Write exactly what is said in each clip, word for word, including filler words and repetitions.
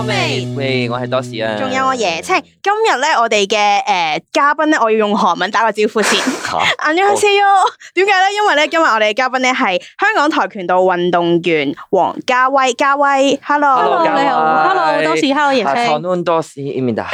味。 喂，我係多士啊。 仲有我椰青。今日咧，我哋嘅誒嘉賓咧，我要用韓文打個招呼先。안녕하세요。點解咧？因為咧，今日我哋嘅嘉賓咧係香港跆拳道運動員黃嘉威。嘉威 ，Hello， 你好 ，Hello， 多士 ，Hello， 椰青。 韓多士，Imida。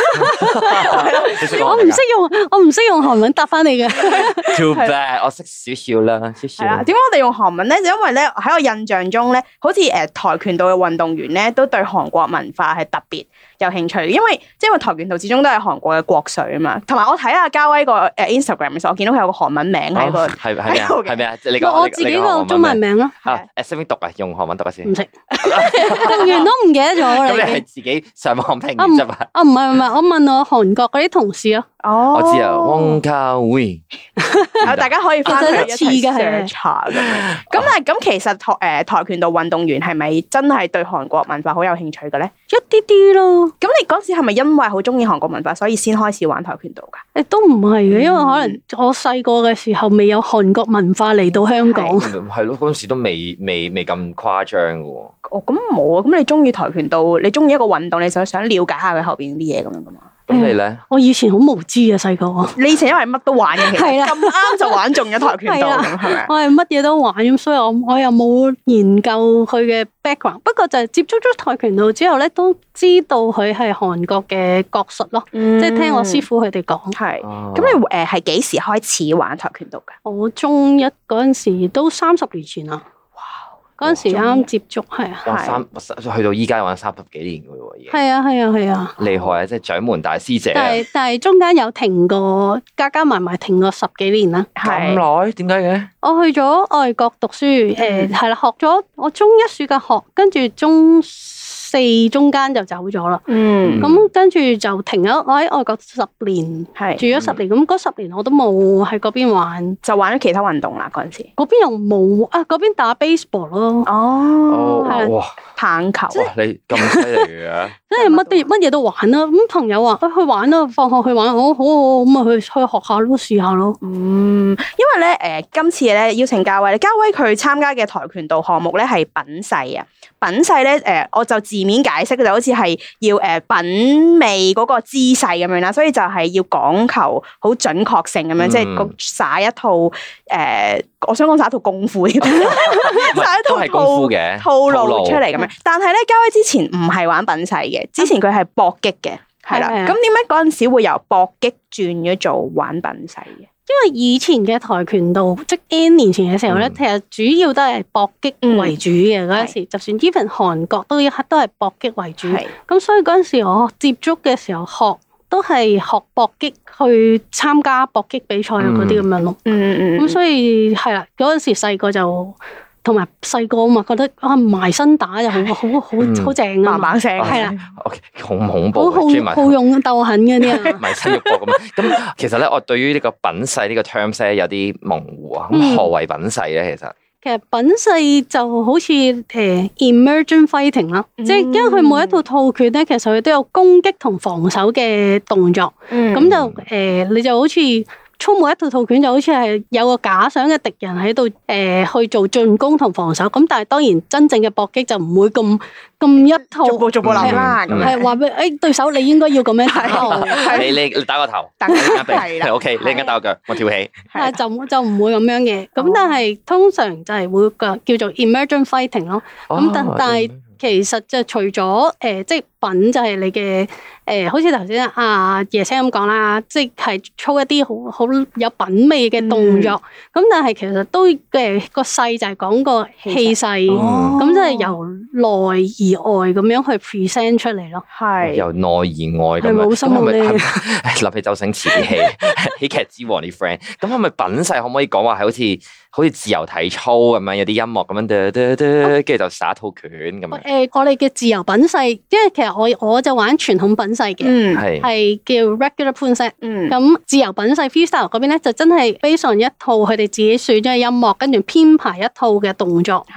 我唔識用，我唔識用韓文答翻你嘅。 Too bad， 我識少少啦，少少。 係啦，點解我哋用韓文咧？就因為咧喺我印象中咧，好似誒跆拳道嘅運動員咧，都對韓國文化係特別有興趣，因為即係因為跆拳道始終都係韓國嘅國粹啊嘛。同埋我睇下嘉威個誒 Instagram 嘅時候，我見到佢有個韓文名喺個係係咩啊？係咩啊？你講我自己個中文名咯。 啊誒，識唔識讀啊？用韓文讀下先。 唔識，讀完都唔記得咗啦。 咁你係自己上網拼啊啫嘛？ 啊唔係唔係，我問我韓國嗰啲同事咯。 哦， 我知啊，汪嘉威。 大家可以翻去一齊其實一似嘅 search 下咁樣。咁但係咁其實跆誒跆拳道運動員係咪真係對韓國文化好有興趣嘅咧？ 一啲啲咯。 咁你嗰時係咪因為好中意韓國文化，所以先開始玩跆拳道㗎？ 誒都唔係嘅，因為可能我細個嘅時候未有韓國文化嚟到香港。 係咯，嗰陣時都未未未咁誇張嘅喎。 哦，咁冇啊！咁你中意跆拳道，你中意一個運動，你就想了解下佢後邊啲嘢咁樣噶嘛？ 咁你咧？ 我以前好無知嘅細個。 你以前因為乜都玩嘅，其實係啦咁啱就玩中咗跆拳道咁，係咪？ 我係乜嘢都玩咁，所以我我又冇研究佢嘅 background。不過就係接觸咗跆拳道之後咧，都知道佢係韓國嘅國術咯， 嗯即係聽我師傅佢哋講。 係。 哦咁你誒係幾時開始玩跆拳道㗎？ 我中一嗰陣時都三十年前啦。嗰陣時啱啱接觸，係啊， 玩三去到依家玩三十幾年嘅喎，已經係啊，係啊，係啊， 厲害啊！即係掌門大師姐啊。 但係但係中間有停過，加加埋埋停過十幾年啦。 咁耐？點解嘅？ 我去咗外國讀書，誒係啦，學咗我中一暑假學，跟住中四中間就走咗啦。 嗯。 咁跟住就停咗，我喺外國十年， 係住咗十年。咁嗰十年我都冇喺嗰邊玩， 就玩咗其他運動啦。嗰陣時。 嗰邊又冇啊，嗰邊打 baseball 咯。 哦。 係哇！ 棒球。 哇！你咁犀利嘅。 即係乜啲乜嘢都玩啦。咁朋友話：，去玩啦，放學去玩，好好好，咁啊去去學下咯，試下咯。 嗯，因為咧，誒、呃，今次咧邀請嘉威，嘉威佢參加嘅跆拳道項目咧係品勢啊。品勢咧，誒、呃，我就字面解釋就好似係要誒、呃、品味嗰個姿勢咁樣啦，所以就係要講求好準確性咁樣，嗯、即係個耍一套誒、呃，我想講耍一套功夫，耍一套係功夫嘅套路出嚟咁樣。但係咧，嘉威之前唔係玩品勢嘅，之前佢係搏擊嘅，係啦。咁點解嗰陣時會由搏擊轉咗做玩品勢嘅？ 因為以前嘅跆拳道，即 N 年前嘅時候咧，嗯、其實主要都係搏擊為主嘅嗰陣時，就算 even 韓國都一刻都係搏擊為主。咁所以嗰陣時我接觸嘅時候學都係學搏擊去參加搏擊比賽嗰啲咁樣咯。嗯嗯咁、嗯、所以係啦，嗰陣時細個就。同埋細個嘛，覺得啊埋身打就好好好好正啊， 嘭嘭聲係啦， 好恐怖， 好好勇鬥狠嗰啲啊， 埋身肉搏咁。咁其實咧，我對於呢個品勢呢個 terms 咧有啲模糊啊。咁何謂品勢咧？其實其實品勢就好似誒 emergent fighting 啦，即係因為佢每一套套拳咧，其實佢都有攻擊同防守嘅動作，咁就誒你就好似。操每一套套拳就好似係有個假想嘅敵人喺度，誒、呃、去做進攻同防守。咁但係當然真正嘅搏擊就唔會咁咁一套， 逐步逐步諗啦。咁係話俾誒對手，你應該要咁樣睇。 你你你打個頭， 係啦 ，OK，你而家打個腳，我跳起。 係就就唔會咁樣嘅。咁但係通常就係會個叫做 emergent fighting 咯。咁但但係其實就除咗誒、呃，即係品就係你嘅。誒，好似頭先阿椰青咁講啦，即係操一啲好好有品味嘅動作，咁、嗯、但係其實都嘅個勢就係講個氣勢，咁即係由內而外咁樣去 present 出嚟咯。係由內而外咁樣。係冇心冇力。諗起周星馳啲戲，喜劇之王啲 friend，咁係咪品勢可唔可以講話係好似好似自由體操咁樣，有啲音樂咁樣，跟住就耍一套拳咁樣？誒， 我哋嘅自由品勢，因為其實我我就玩傳統品勢嘅，係係、嗯、叫 regular 判勢。嗯，咁自由品勢 freestyle 嗰邊咧就真係 based on 一套佢哋自己選咗嘅音樂，跟住編排一套嘅動作。係，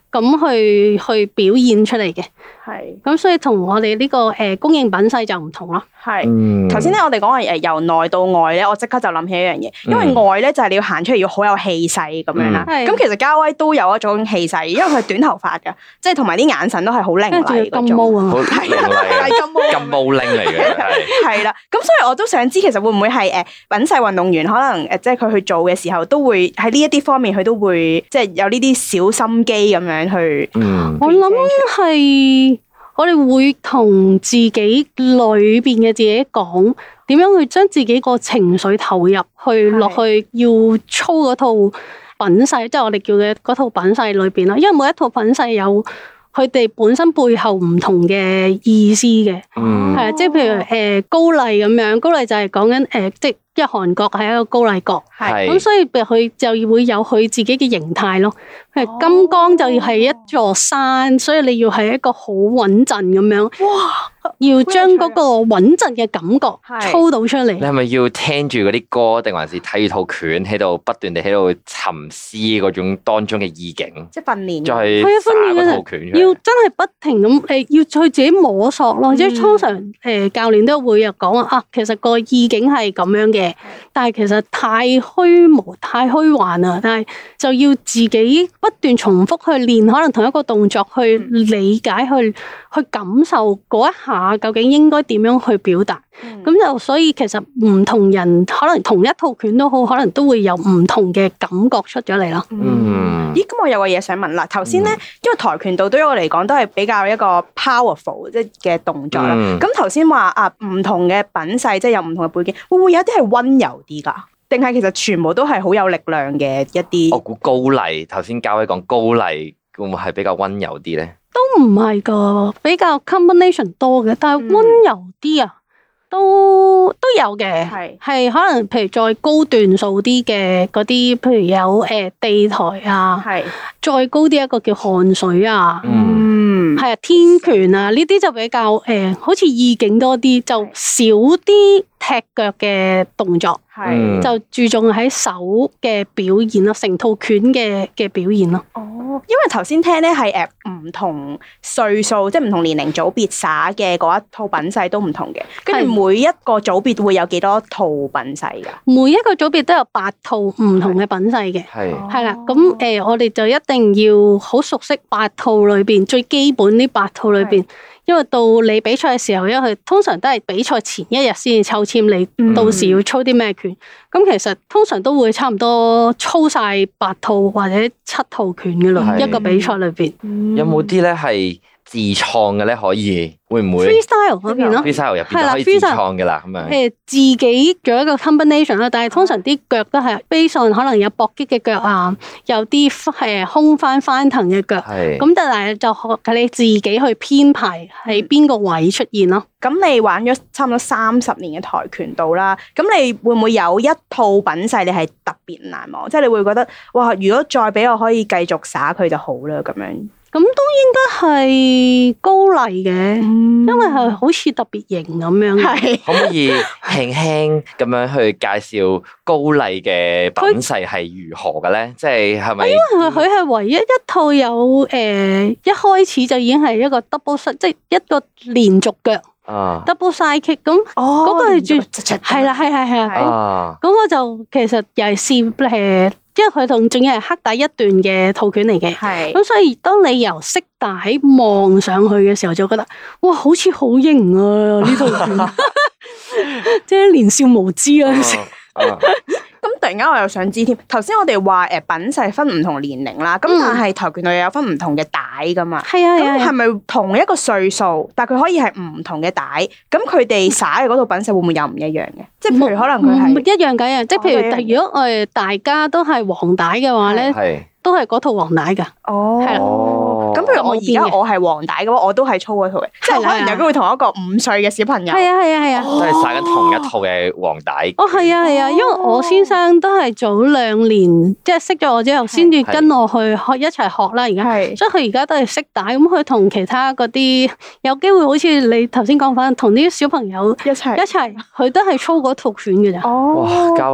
咁去去表現出嚟嘅。 係， 咁所以同我哋呢個誒公認品勢就唔同咯。 係，頭先咧我哋講話誒由內到外咧，我即刻就諗起一樣嘢，因為外咧就係你要行出嚟要好有氣勢咁樣啦。咁、嗯、其實嘉威都有一種氣勢，因為佢係短頭髮㗎，即係同埋啲眼神都係好凌厲嗰種。 金毛啊， 係金毛， 金毛拎嚟嘅係。 係啦，咁所以我都想知其實會唔會係誒品勢運動員可能誒即係佢去做嘅時候都會喺呢一啲方面佢都會即係有呢啲小心機咁樣去。 嗯， 我諗係。我哋會同自己裏邊嘅自己講，點樣去將自己個情緒投入去落去，要操嗰套品勢，即係我哋叫嘅嗰套品勢裏邊啦。因為每一套品勢有佢哋本身背後唔同嘅意思嘅，係啊、嗯，即係譬如誒高麗咁樣，高麗就係講緊誒即係。因為韓國係一個高麗國，咁是所以佢就會有佢自己嘅形態咯。譬如金剛就係一座山，哦、所以你要係一個好穩陣咁樣。哇！要將嗰個穩陣嘅感覺操到出嚟。 你係咪要聽住嗰啲歌，定還是睇住套拳喺度不斷地喺度沉思嗰種當中嘅意境？ 即係訓練， 就係訓練嗰套拳， 要真係不停咁誒，要去自己摸索咯。即係、嗯、通常誒教練都會有講話啊，其實個意境係咁樣嘅。但係其實太虛無、太虛幻啦，但係就要自己不斷重複去練，可能同一個動作去理解、去去感受嗰一下究竟應該點樣去表達。咁、嗯、就所以其實唔同人可能同一套拳都好，可能都會有唔同嘅感覺出咗嚟咯。 嗯，咦？咁我有個嘢想問啦。頭先咧，因為跆拳道對於我嚟講都係比較一個 powerful 即係嘅動作啦。咁頭先話啊，唔同嘅品勢即係有唔同嘅背景，會唔會有一啲係溫柔啲噶？定係其實全部都係好有力量嘅一啲？我估高麗頭先嘉威講高麗會唔會係比較溫柔啲咧？ 都唔係噶，比較 combination 多嘅，但係溫柔啲啊。嗯都都有嘅，係係是可能譬如再高段數啲嘅嗰啲，譬如有誒、呃、地台啊，係是再高啲一個叫汗水啊，嗯，係啊天拳啊，呢啲就比較誒、呃、好似意境多啲，就少啲踢腳嘅動作，係是就注重喺手嘅表現咯，成套拳嘅嘅表現咯。 哦，因為頭先聽咧係誒唔同歲數，即係唔同年齡組別耍嘅嗰一套品勢都唔同嘅，跟住每一個組別會有幾多套品勢噶？ 每一個組別都有八套唔同嘅品勢嘅，係係啦。咁誒、呃，我哋就一定要好熟悉八套裏邊最基本呢八套裏邊。因為到你比賽嘅時候，因為佢通常都係比賽前一日先至抽籤，你到時要操啲咩拳？咁、嗯、其實通常都會差唔多操晒八套或者七套拳嘅咯，是一個比賽裏邊。嗯、 有冇啲咧係自創嘅咧？可以會唔會 freestyle 嗰邊咯 ？freestyle 入邊可以自創嘅啦，咁樣。 誒，自己做一個 combination 啦，但係通常啲腳都係 based on 可能有搏擊嘅腳啊，有啲誒空翻翻騰嘅腳。係。咁但係就學你自己去編排喺邊個位出現咯。 咁、嗯、你玩咗差唔多三十年嘅跆拳道啦，咁你會唔會有一套品勢你係特別難忘？即係你會覺得哇，如果再俾我可以繼續耍佢就好啦咁樣。 咁都應該係高麗嘅，嗯、因為係好似特別型咁樣。係可唔可以輕輕咁樣去介紹高麗嘅品勢係如何嘅咧？即係係咪？因為佢係唯一一套有誒、呃，一開始就已經係一個 double side，即係一個連續腳。啊 double side kick 咁，嗰個係最係啦，係係係係。咁我就其實又係試誒。因為佢同仲要係黑帶一段嘅套拳嚟嘅，係咁是所以當你由色帶望上去嘅時候，就覺得哇，好似好型啊呢套拳，即係年少無知啊！ 咁突然間我又想知添，頭先我哋話誒品勢分唔同年齡啦，咁、嗯、但係跆拳道又有分唔同嘅帶噶嘛？係啊，咁係咪同一個歲數，但係佢可以係唔同嘅帶？咁佢哋耍嘅嗰套品勢會唔會又唔一樣嘅？即係譬如可能佢係唔一樣嘅，即係譬如如果我哋大家都係黃帶嘅話咧，係都係嗰套黃帶噶。哦，係啦。 咁譬如我而家我係黃帶嘅話，我都係操嗰套嘅，即係可能有機會同一個五歲嘅小朋友。 係啊係啊係啊， 都係耍緊同一套嘅黃帶。 哦，係啊係啊，因為我先生都係早兩年即係識咗我之後，先至跟我去學一齊學啦。而家，所以佢而家都係識帶，咁佢同其他嗰啲有機會，好似你頭先講翻，同啲小朋友一齊一齊，佢都係操嗰套拳嘅咋。 哦， 嘉威。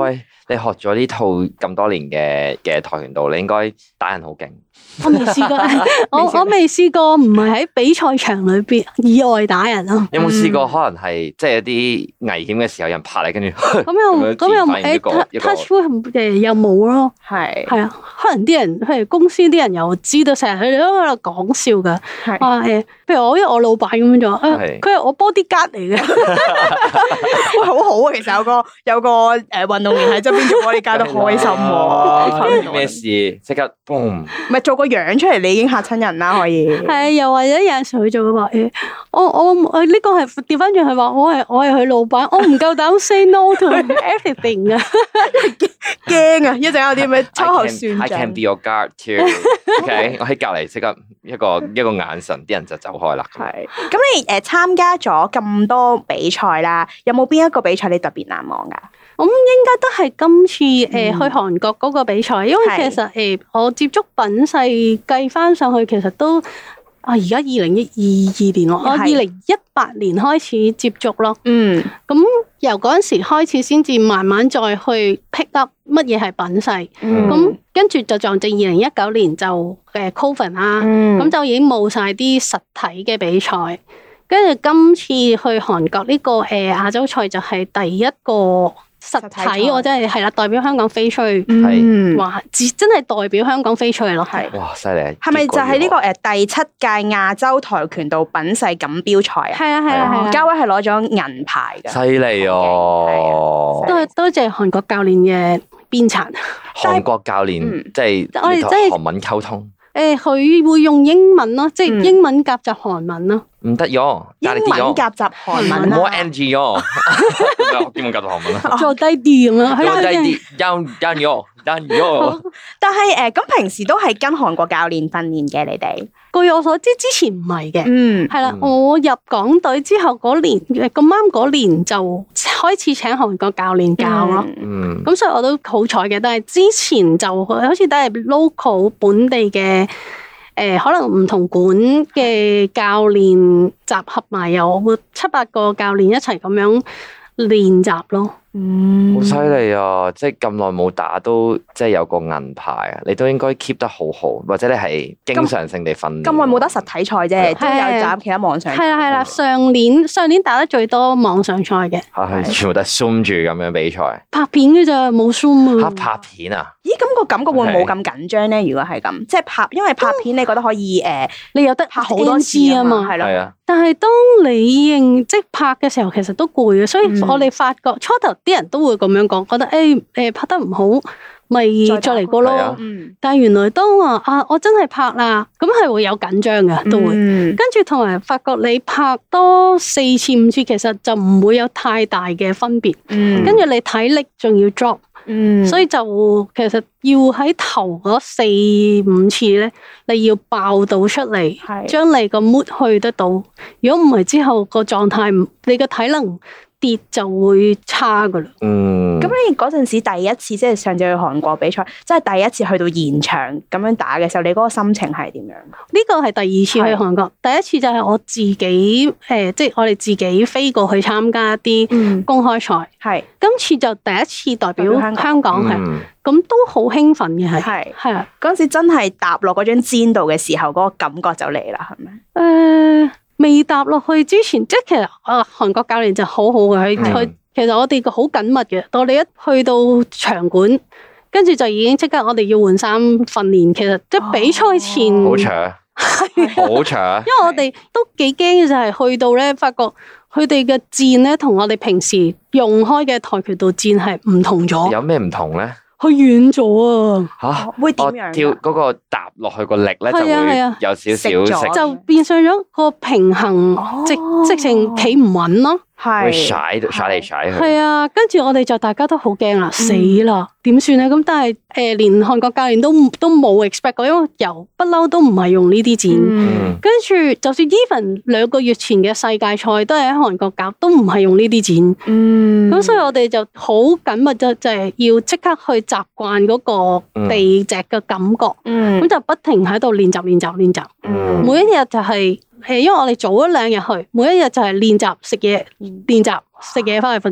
你學咗呢套咁多年嘅嘅跆拳道，你應該打人好勁。 我未試過，我我未試過，唔係喺比賽場裏邊以外打人咯。 有冇試過可能係即係一啲危險嘅時候，有人拍你，跟住咁又咁又誒 touch wood 誒又冇咯。 係係啊，可能啲人譬如公司啲人又知道，成日佢哋都喺度講笑噶。話誒，譬如我因為我老闆咁樣做，佢係我 bodyguard 嚟嘅。 喂，好好啊，其實有個有個誒運動員喺側邊做 bodyguard都開心喎。 咩事？即刻 boom！ 咪做個樣出嚟，你已經嚇親人啦，可以。 係，又或者有陣時佢就會話誒，我我我呢個係調翻轉，佢話我係我係佢老闆，我唔夠膽 say no to everything 啊， 驚啊！一陣有啲咩秋後算賬。 I can be your guard too。OK， 我喺隔離即刻一個一個眼神，啲人就走開啦。 係。咁你誒參加咗咁多比賽啦，有冇邊一個比賽你特別難忘㗎？ 咁應該都係今次誒、呃、去韓國嗰個比賽，因為其實誒、呃、我接觸品勢計翻上去，其實都啊而家二零一二年咯，我二零一八年開始接觸咯。嗯，咁由嗰陣時開始，先至慢慢再去 pick up 乜嘢係品勢。咁跟住就撞正二零一九年就誒 Covid 啦，咁就已經冇晒啲實體嘅比賽。跟住今次去韓國呢、這個誒亞、呃、洲賽就係第一個。實體我真係係啦，代表香港飛出去，係哇，真係代表香港飛出去咯，係哇，犀利！ 係咪就係呢個誒第七屆亞洲跆拳道品勢錦標賽啊？ 係啊係啊係啊！ 嘉威係攞咗銀牌嘅， 犀利哦！ 多多謝韓國教練嘅鞭策。 韓國教練即係我哋即係韓文溝通。 誒，佢會用英文咯，即係英文夾雜韓文咯。 唔得喲， 英文夾雜韓文啦。冇 N G 喲，英文夾雜韓文啦。 做低啲咁樣， 做低啲，down down 喲，down 喲。 但係誒，咁平時都係跟韓國教練訓練嘅，你哋？ 據我所知，之前唔係嘅。嗯，係啦，我入港隊之後嗰年，咁啱嗰年就開始請韓國教練教咯。嗯，咁所以我都好彩嘅。但係之前就好似都係 local 本地嘅。誒、呃，可能唔同館嘅教練集合埋，有七八個教練一齊咁樣練習咯。 嗯，好犀利啊！即係咁耐冇打都，即係有個銀牌啊！你都應該 keep 得好好，或者你係經常性地訓練。 咁耐冇打實體賽啫，都有打其他網上賽。 係啦係啦，上年上年打得最多網上賽嘅。 係全部都係 zoom 住咁樣比賽。 拍片嘅咋，冇 zoom 啊！拍片啊？ 咦，咁個感覺會唔會冇咁緊張咧？如果係咁，即係拍，因為拍片你覺得可以誒， 你有得拍好多次啊嘛，係咯。係啊。 但係當你認即係拍嘅時候，其實都攰嘅，所以我哋發覺初頭啲人都會咁樣講，覺得誒誒拍得唔好，咪再嚟過咯。但係原來當話啊，我真係拍啦，咁係會有緊張嘅，都會。跟住同埋發覺你拍多四次五次，其實就唔會有太大嘅分別。跟住你體力仲要 drop。嗯，所以就其實要喺頭嗰四五次咧，你要爆到出嚟，將你個 mood 去得到。如果唔係之後個狀態唔，你個體能跌就會差噶啦。嗯， 咁你嗰陣時第一次即係上次去韓國比賽，即係第一次去到現場咁樣打嘅時候，你嗰個心情係點樣？呢個係第二次去韓國，第一次就係我自己誒、呃，即係我哋自己飛過去參加一啲公開賽。係、嗯，今次就第一次代表香港係，咁、嗯、都好興奮嘅係。係係啊， 嗰陣時真係踏落嗰張氈度嘅時候，嗰、嗰個感覺就嚟啦，係咪？誒、 呃。未踏落去之前，即係其實啊，韓國教練就好好嘅，佢佢、嗯、其實我哋個好緊密嘅。當你一去到場館，跟住就已經即刻我哋要換衫訓練。其實即係比賽前好長，好長。 因為我哋都幾驚嘅就係去到咧，發覺佢哋嘅箭咧同我哋平時用開嘅跆拳道箭係唔同咗。 有咩唔同咧？ 佢遠咗啊！ 吓， 會點樣？ 跳嗰個踏落去個力咧，就會有少少食， 就變相咗個平衡，直直情企唔穩咯。 會甩甩嚟甩去。 係啊，跟住我哋就大家都好驚啦，死啦，點算咧？咁但係誒，連韓國教練都都冇 expect 過，因為由不嬲都唔係用呢啲箭。跟住就算 even 兩個月前嘅世界賽都係喺韓國搞，都唔係用呢啲箭。嗯，咁所以我哋就好緊密，就就係要即刻去習慣嗰個地脊嘅感覺。嗯，咁就不停喺度練習練習練習。嗯，每一日就係。係，因為我哋早咗兩日去，每一日就係練習食嘢，練習食嘢翻去瞓覺。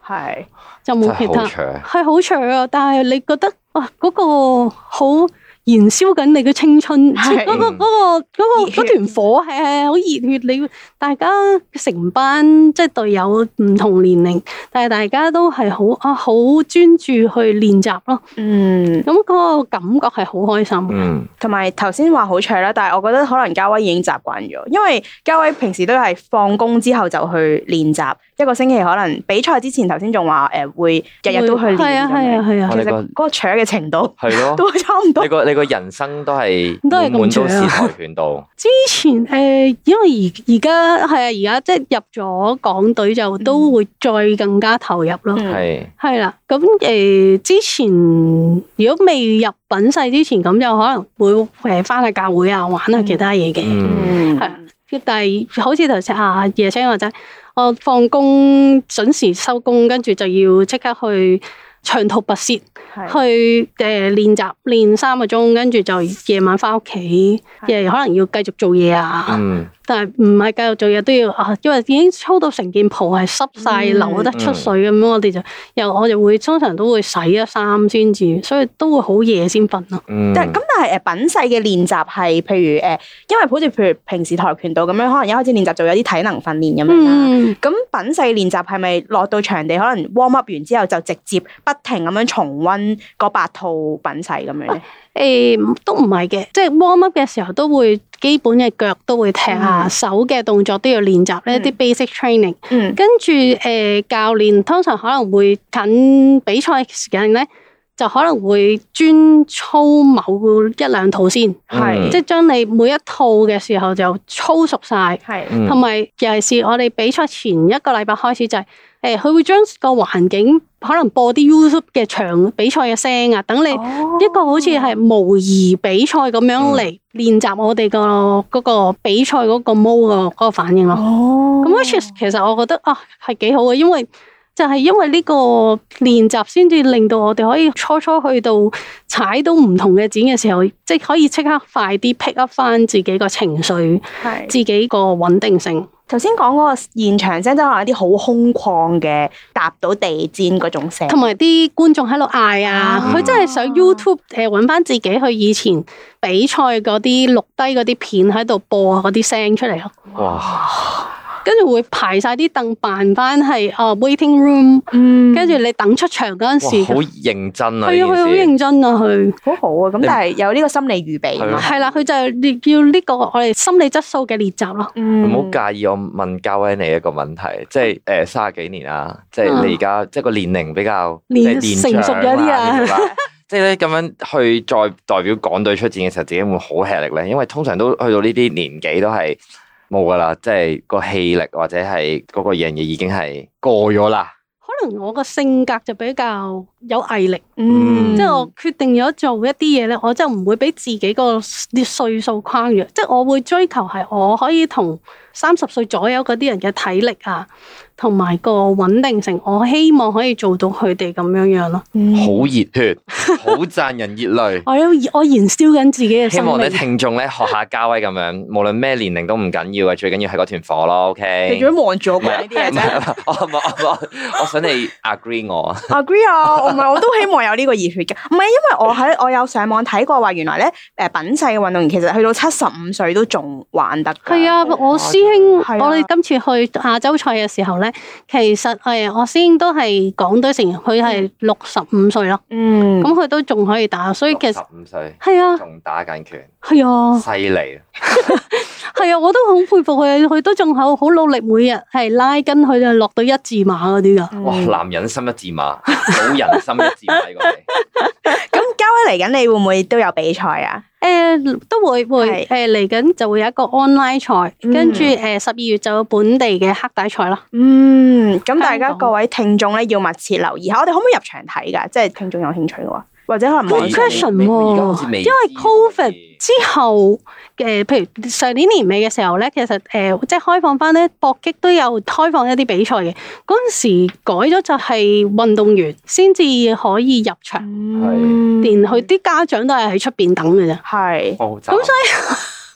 係就冇其他，係好長啊！但係你覺得哇，嗰個好燃燒緊你嘅青春，即係嗰個嗰個嗰個嗰團火係係好熱血。你大家成班即係隊友唔同年齡，但係大家都係好啊好專注去練習咯。嗯，咁嗰個感覺係好開心。 嗯， 同埋頭先話好長啦，但係我覺得可能嘉威已經習慣咗，因為嘉威平時都係放工之後就去練習，一個星期可能比賽之前頭先仲話誒會日日都去練。係啊係啊係啊，其實嗰個長嘅程度係咯，都差唔多。 你個你個人生都係滿滿都是跆拳道。 之前誒、呃，因為而而家係啊，而家即係入咗港隊就都會再更加投入咯。係係啦，咁誒、呃、之前如果未入品勢之前，咁就可能會誒翻去教會啊，玩下其他嘢嘅。係啊、嗯，但係好似頭先阿椰青話齋，我放工準時收工，跟住就要即刻去長途跋涉去誒練習練三個鐘，跟住就夜晚翻屋企，誒可能要繼續做嘢啊。嗯、但係唔係繼續做嘢都要啊，因為已經操到成件袍係濕晒，嗯、流得出水咁樣，嗯、我哋就又我就會通常都會洗咗衫先至，所以都會好夜先瞓咯。 嗯、但係咁，但係誒品勢嘅練習係譬如誒，因為好似譬如平時跆拳道咁樣，可能一開始練習就有啲體能訓練咁樣啦。咁、嗯、品勢練習係咪落到場地可能 warm up 完之後就直接不停咁樣重溫嗰八套品勢咁樣咧？ 誒、啊，都唔係嘅，即係 warm up 嘅時候都會基本嘅腳都會踢下，嗯、手嘅動作都要練習呢啲 basic training。嗯，跟住誒教練通常可能會近比賽時間咧，就可能會專操某一兩套先，係、嗯、即係將你每一套嘅時候就操熟晒，係、嗯，同埋尤其是我哋比賽前一個禮拜開始就係、是。誒，佢會將個環境可能播啲 YouTube 嘅場比賽嘅聲啊，等你一個好似係模擬比賽咁樣嚟練習我哋個嗰個比賽嗰個 mode 個嗰個反應咯。哦，咁 which is 其實我覺得啊係幾好嘅，因為就係因為呢個練習先至令到我哋可以初初去到踩到唔同嘅展嘅時候，即係可以即刻快啲 pick up 翻自己個情緒，係自己個穩定性。 頭先講嗰個現場聲，即係可能一啲好空曠嘅踏到地氈嗰種聲， 同埋啲觀眾喺度嗌啊！佢、嗯、真係上 YouTube 誒揾翻自己去以前比賽嗰啲錄低嗰啲片喺度播嗰啲聲出嚟咯。哇！跟住會排晒啲凳扮翻係哦 waiting room，跟住你等出場嗰陣時， 好認真啊！ 係啊，佢好認真啊，佢好好啊！咁但係有呢個心理預備嘛？ 係啦，佢就係要呢個我哋心理質素嘅練習咯。 唔好介意我問嘉威你一個問題，即係誒三十幾年啦，即係你而家即係個年齡比較即係成熟咗啲啊。 即係咧咁樣去再代表港隊出戰嘅時候，自己會好吃力咧，因為通常都去到呢啲年紀都係。冇噶啦，即係個氣力或者係嗰個樣嘢已經係過咗啦。 可能我個性格就比較有毅力，嗯，即係我決定咗做一啲嘢咧，我就唔會俾自己個啲歲數框住，即係我會追求係我可以同三十歲左右嗰啲人嘅體力啊，同埋個穩定性，我希望可以做到佢哋咁樣樣咯。 好熱血，好賺人熱淚。 我有我燃燒緊自己嘅生命。 希望啲聽眾咧學下嘉威咁樣，無論咩年齡都唔緊要啊，最緊要係嗰團火咯。OK。 你做咩望住我講呢啲嘢啫？ 我我我我想你 agree 我。 agree 啊！我唔係我都希望有呢個熱血嘅，唔係因為我喺我有上網睇過話，原來咧誒品勢嘅運動員其實去到七十五歲都仲玩得。 係啊，我師兄，啊、我哋今次去亞洲賽嘅時候咧，其實誒我師兄都係港隊成員，佢係六十五歲咯。嗯，咁佢都仲可以打，所以其實十五歲係啊， 仲打緊拳， 係啊， 犀利。 係啊，我都好佩服佢，佢都仲好好努力，每日係拉筋，佢就落到一字馬嗰啲噶。 哇，男人心一字馬，老人心一字馬過嚟。 咁嘉威嚟緊，你會唔會都有比賽啊？ 誒、呃，都會會誒嚟緊就會有一個 online 賽，跟住誒十二月就有本地嘅黑帶賽咯。 嗯，咁大家各位聽眾咧要密切留意下，我哋可唔可以入場睇噶？即係聽眾有興趣嘅話。或者可能冇 question 喎，因為 Covid 之後嘅，譬如上年年尾嘅時候咧，其實誒、呃、即係開放翻咧搏擊都有開放一啲比賽嘅。嗰陣時改咗就係運動員先至可以入場，嗯、連佢啲家長都係喺出邊等嘅啫。係，咁所以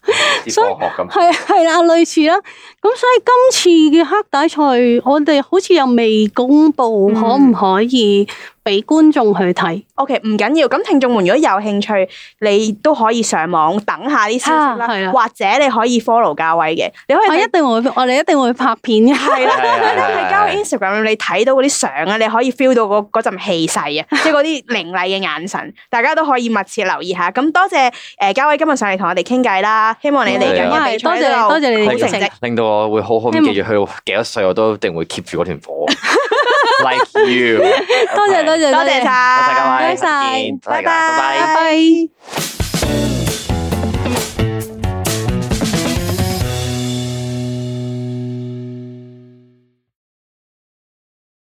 所以咁係係啦，類似啦。咁所以今次嘅黑帶賽，我哋好似又未公布可唔可以俾觀眾去睇。 O K， 唔緊要。咁聽眾們如果有興趣，你都可以上網等下啲消息啦， 啊、 或者你可以 follow 嘉威嘅。你可以我一定會，我哋一定會拍片嘅。 係啦，你喺嘉威 Instagram 你睇到嗰啲相啊，你可以 feel 到嗰嗰陣氣勢啊，即係嗰啲凌厲嘅眼神，大家都可以密切留意下。咁多謝誒嘉威今日上嚟同我哋傾偈啦，希望你嚟緊嘅比賽都有好成績， 令到我會好好咁記住佢幾多歲，我都一定會 keep 住嗰團火。Like you， 多謝多謝多謝晒， 多謝各位， 多謝， 拜拜，拜拜。